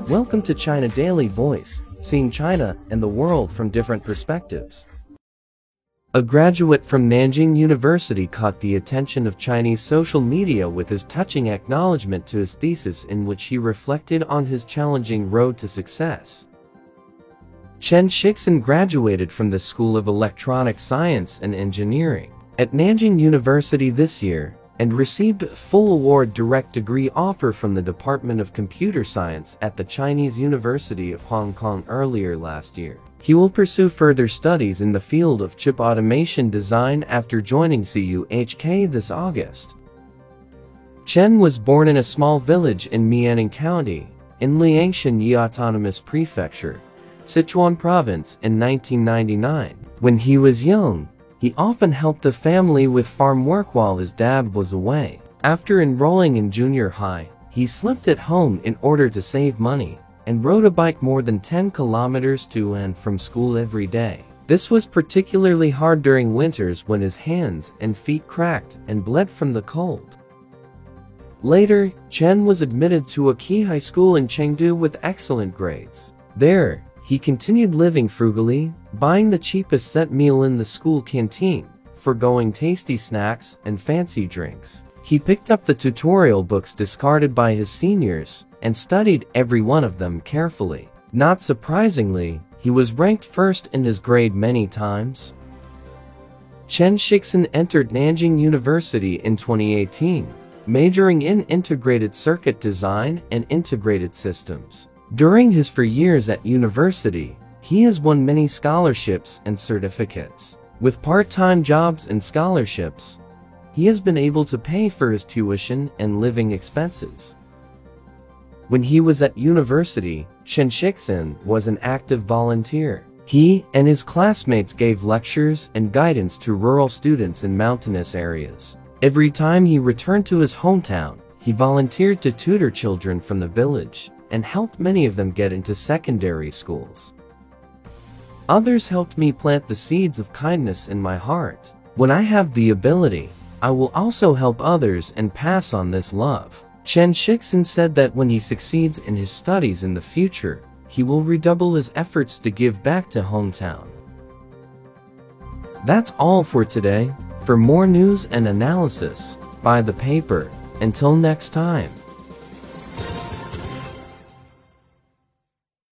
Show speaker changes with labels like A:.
A: Welcome to China Daily Voice, seeing China and the world from different perspectives. A graduate from Nanjing University caught the attention of Chinese social media with his touching acknowledgement to his thesis, in which he reflected on his challenging road to success. Chen Shixin graduated from the School of Electronic Science and Engineering at Nanjing University this year, and received a full award direct degree offer from the Department of Computer Science at the Chinese University of Hong Kong earlier last year. He will pursue further studies in the field of chip automation design after joining CUHK this August. Chen was born in a small village in Mianning County, in Liangshan Yi Autonomous Prefecture, Sichuan Province in 1999. When he was young, he often helped the family with farm work while his dad was away. After enrolling in junior high, he slept at home in order to save money, and rode a bike more than 10 kilometers to and from school every day. This was particularly hard during winters when his hands and feet cracked and bled from the cold. Later, Chen was admitted to a key high school in Chengdu with excellent grades. There, he continued living frugally, buying the cheapest set meal in the school canteen, forgoing tasty snacks and fancy drinks. He picked up the tutorial books discarded by his seniors, and studied every one of them carefully. Not surprisingly, he was ranked first in his grade many times. Chen Shixin entered Nanjing University in 2018, majoring in integrated circuit design and integrated systems. During his 4 years at university, he has won many scholarships and certificates. With part-time jobs and scholarships, he has been able to pay for his tuition and living expenses. When he was at university, Chen Shixin was an active volunteer. He and his classmates gave lectures and guidance to rural students in mountainous areas. Every time he returned to his hometown, he volunteered to tutor children from the village, and helped many of them get into secondary schools. Others helped me plant the seeds of kindness in my heart. When I have the ability, I will also help others and pass on this love. Chen Shixin said that when he succeeds in his studies in the future, he will redouble his efforts to give back to hometown. That's all for today. For more news and analysis, buy the paper. Until next time.